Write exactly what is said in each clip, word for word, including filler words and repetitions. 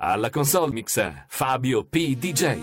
Alla console mixa Fabio P. D J.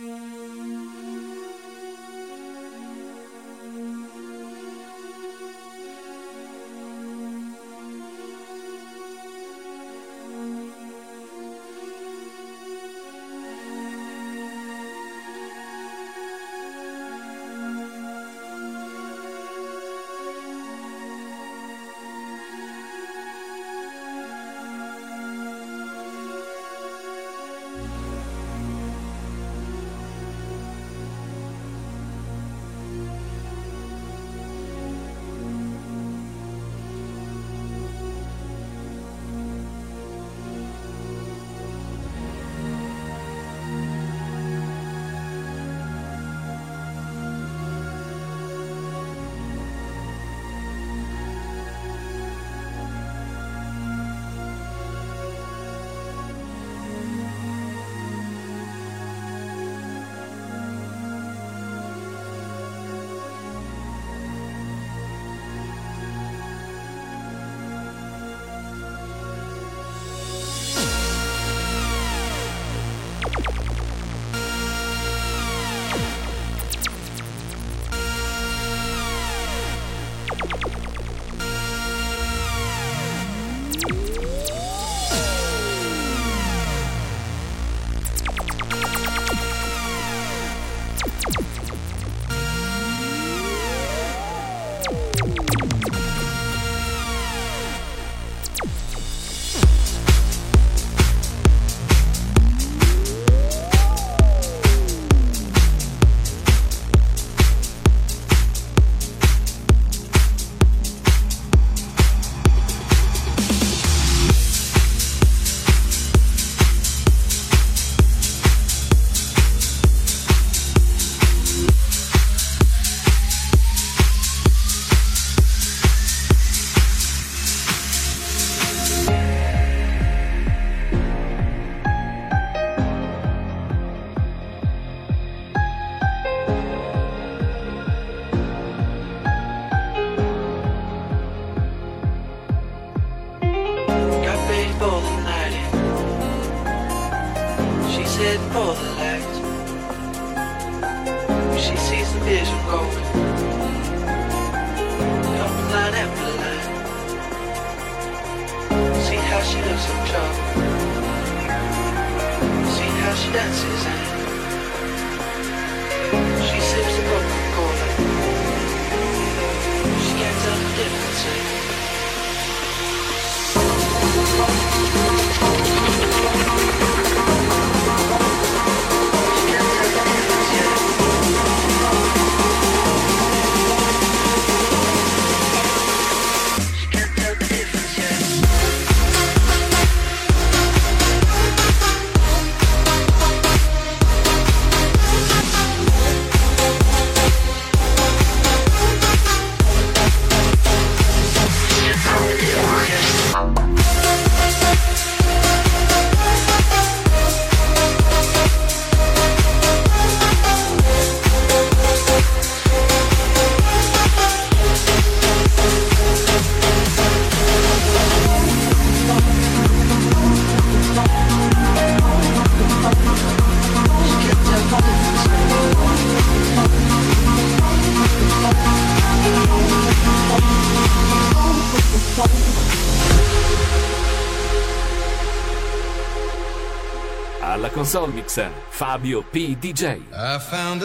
Alla console mixa Fabio P. D J. I found a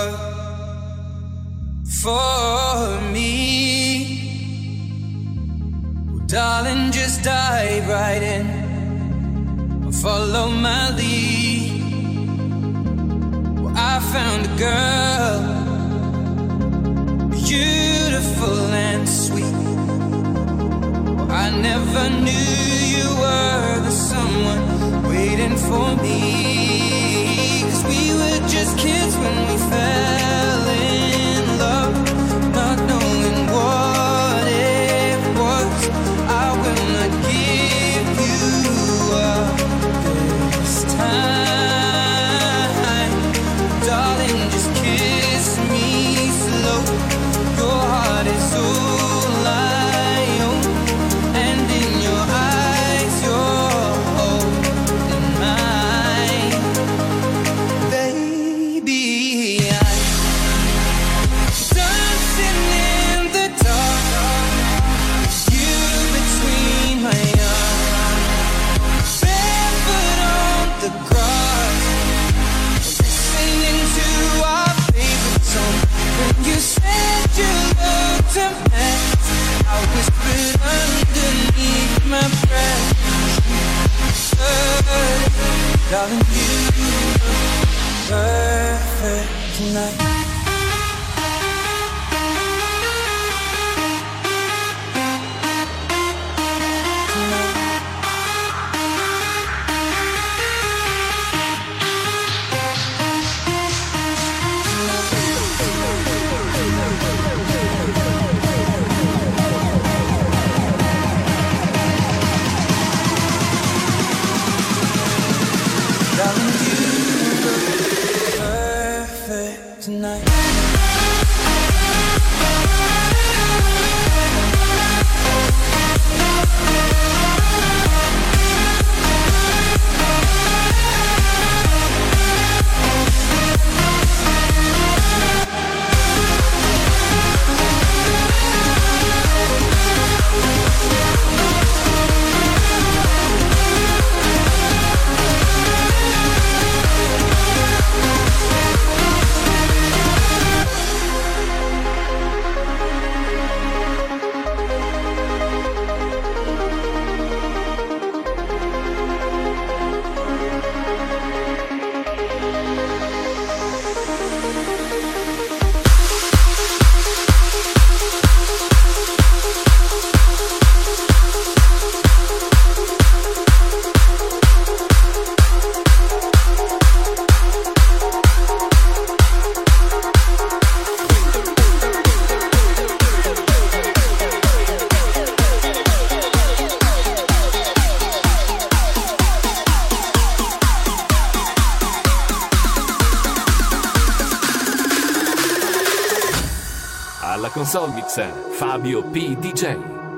love for me. Well, darling, just dive right in. Follow my lead. Well, I found a girl, beautiful and sweet. Well, I never knew you were the someone waiting for me. 'Cause we were just kids when we fell in love, not knowing what it was. I will not give you up this time. Darling, just kiss me slow. Your heart is all I own, and in your eyes you're holding mine. Darling, you look perfect tonight. Tonight. Alla console mix Fabio P. D J.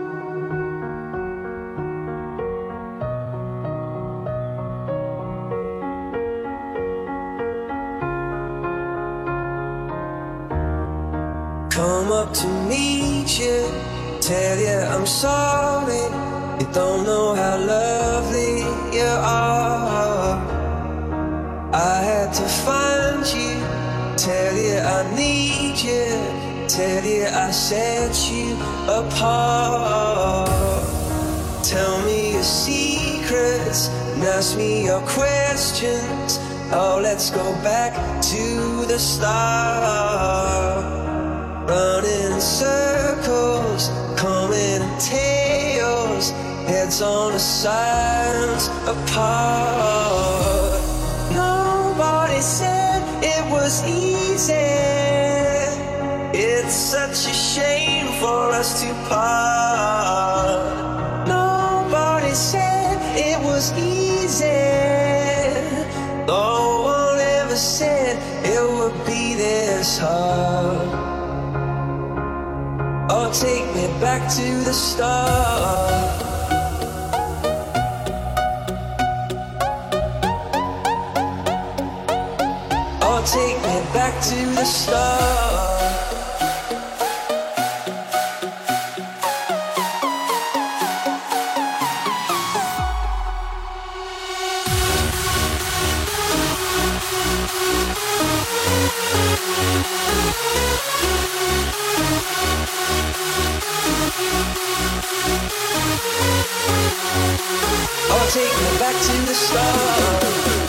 Come up to meet you, tell you I'm sorry. You don't know how lovely you are. I had to find you, tell you I need you, tell you I set you apart. Tell me your secrets and ask me your questions. Oh, let's go back to the start. Running in circles, coming in tails, heads on the sides apart. Nobody said it was easy. It's such a shame for us to part. Nobody said it was easy. No one ever said it would be this hard. Oh, take me back to the start. Oh, take me back to the start. Oh, take me back to the start.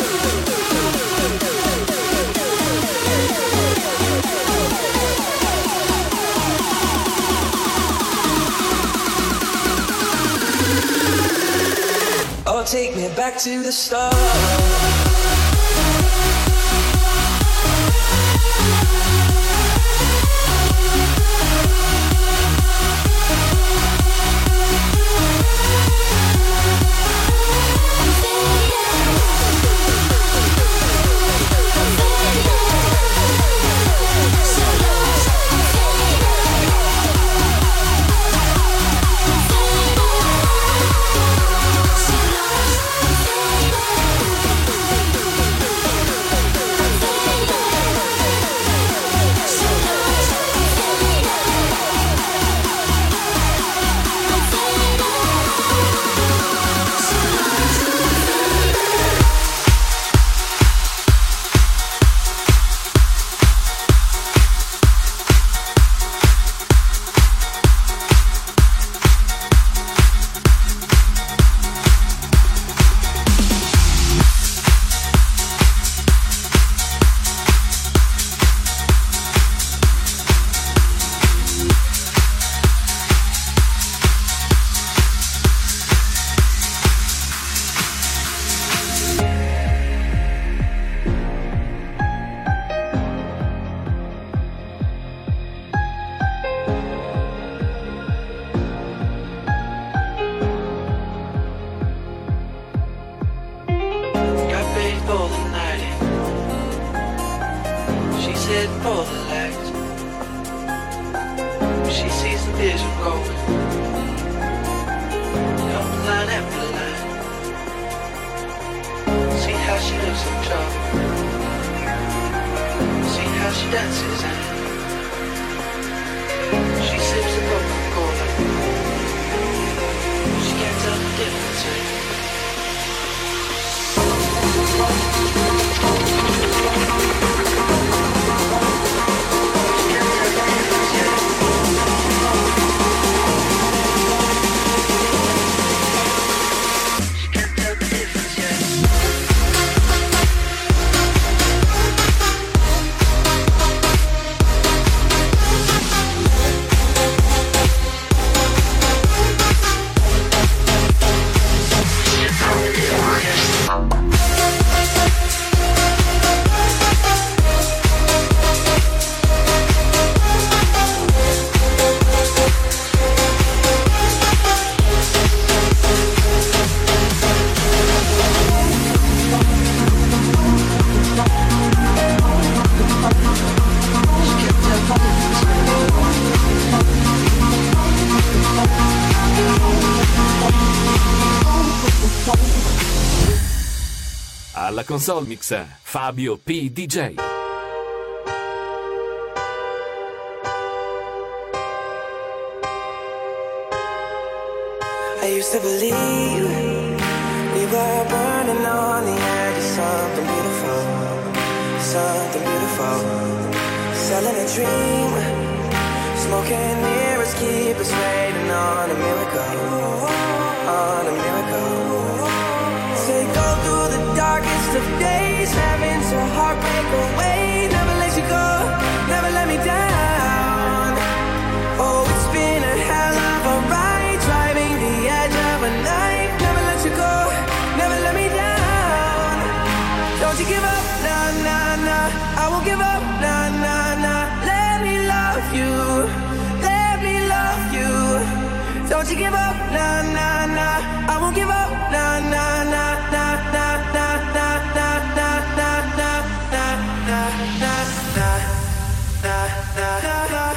Oh, take me back to the start. said pull the lights. She sees the vision going, come line after line. See how she looks in trouble, see how she dances and she sips the Coca-Cola. She can't tell the difference. Alla console mix Fabio P. D J. I used to believe we were burning on the edge of something beautiful, something beautiful. Selling a dream, smoking mirrors keep us waiting on a miracle, on a miracle. Say go through the darkest of days, having to heartbreak away. Never let you go, never let me down. Oh, it's been a hell of a ride, driving the edge of a night. Never let you go, never let me down. Don't you give up, nah, nah, nah. I won't give up, nah, nah, nah. Let me love you, let me love you. Don't you give up, nah, nah, nah. I won't give up, nah, nah, nah, nah, nah, nah, nah, nah, nah, nah, nah, nah, nah, nah, nah, nah, nah, nah.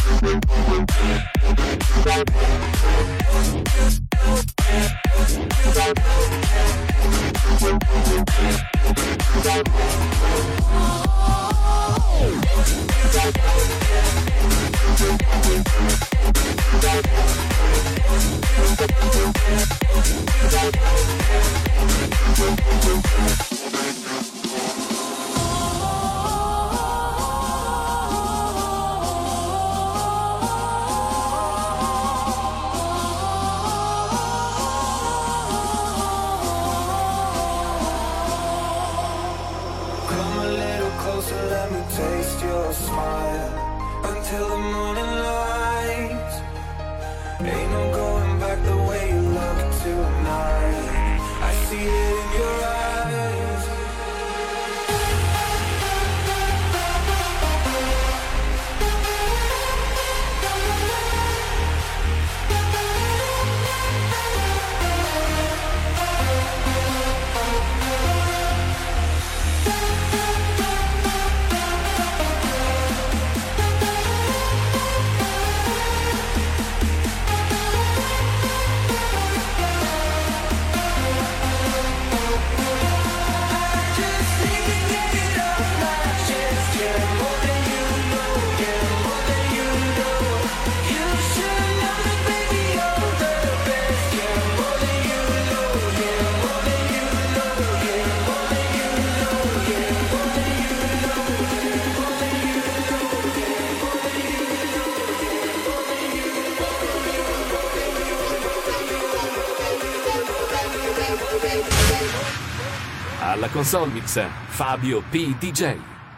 Alla console mix Fabio P. D J.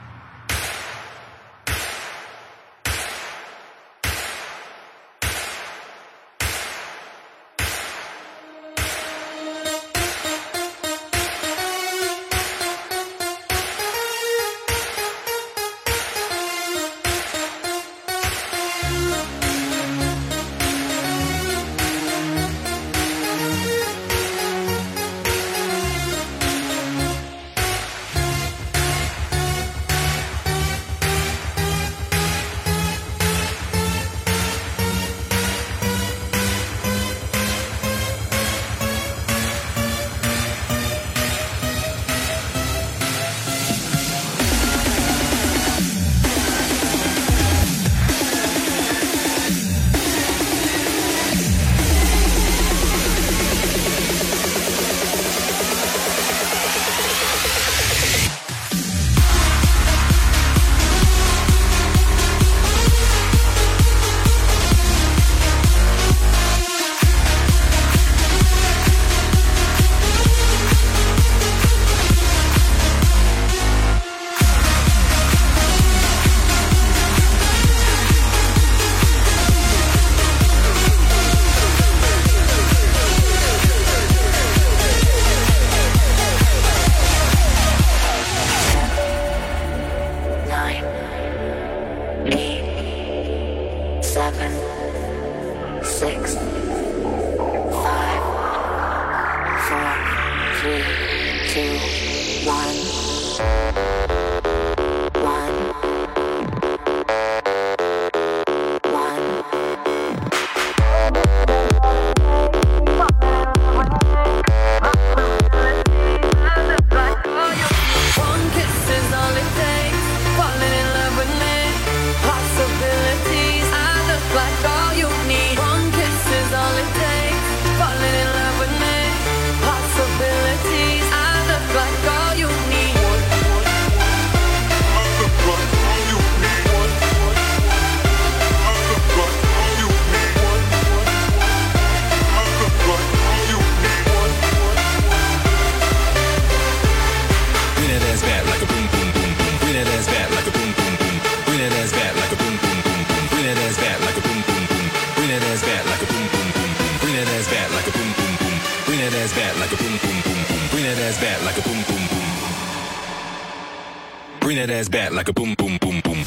Bring that ass back like a boom, boom, boom, boom.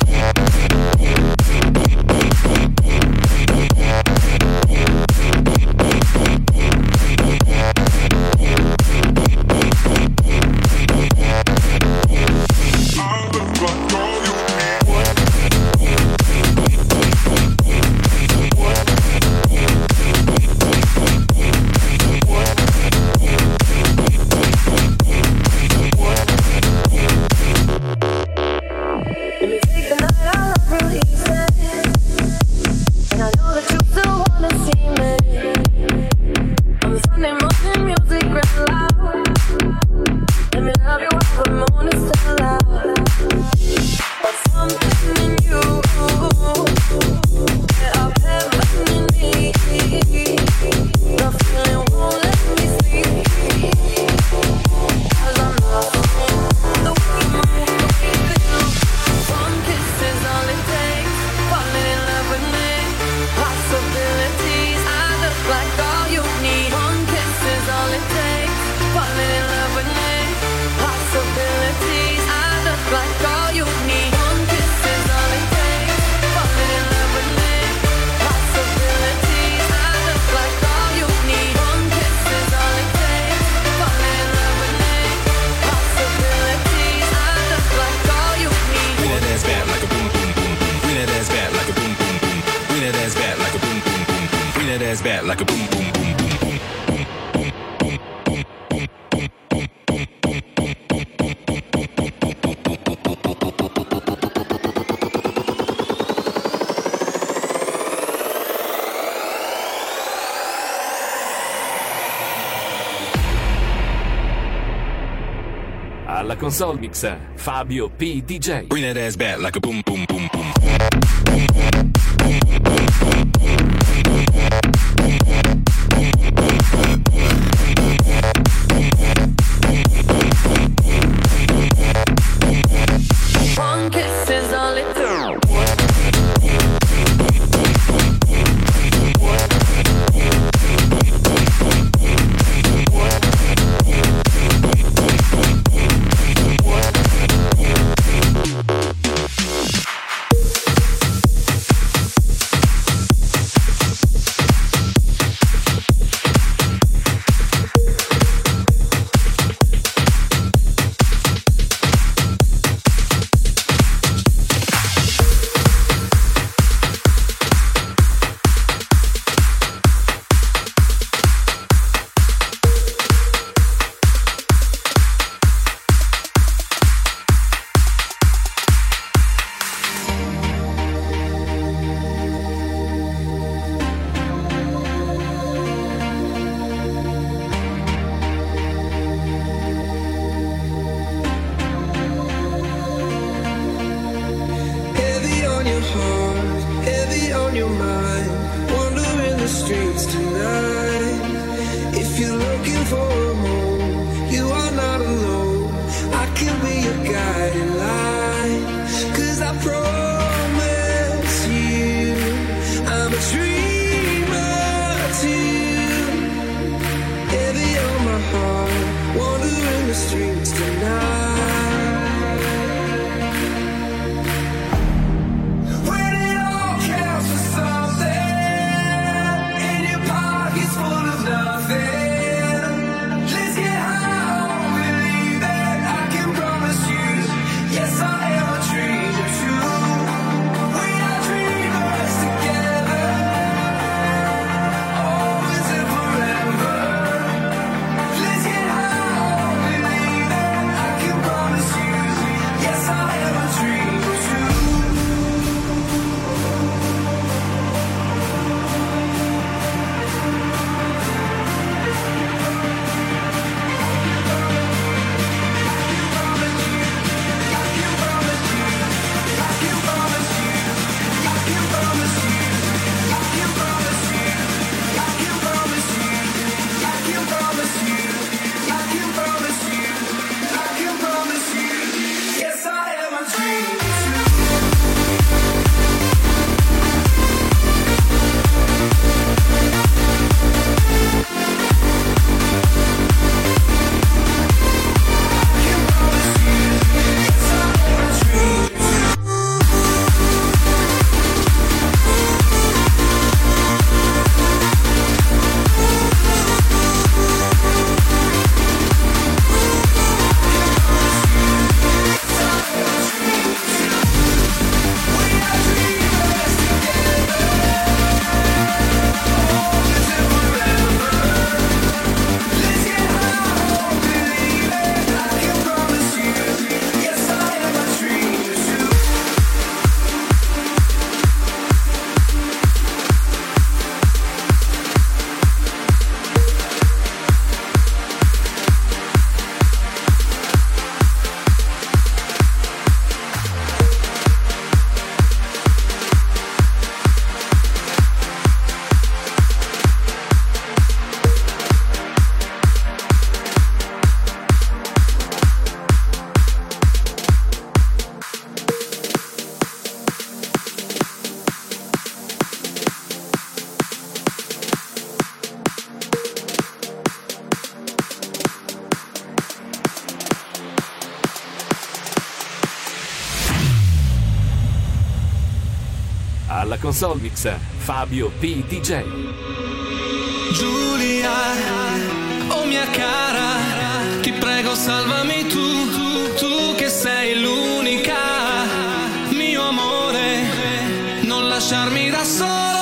I'll Bring that ass back like a boom, boom, boom, boom. Bring that ass back like a boom, boom, boom, boom, boom. Alla console mix Fabio P. D J. Bring that ass back like a boom, boom, boom, boom. One kiss is all it took. Alla console mix Fabio P. D J. Giulia, oh mia cara, ti prego salvami tu, tu, tu che sei l'unica, mio amore, non lasciarmi da solo.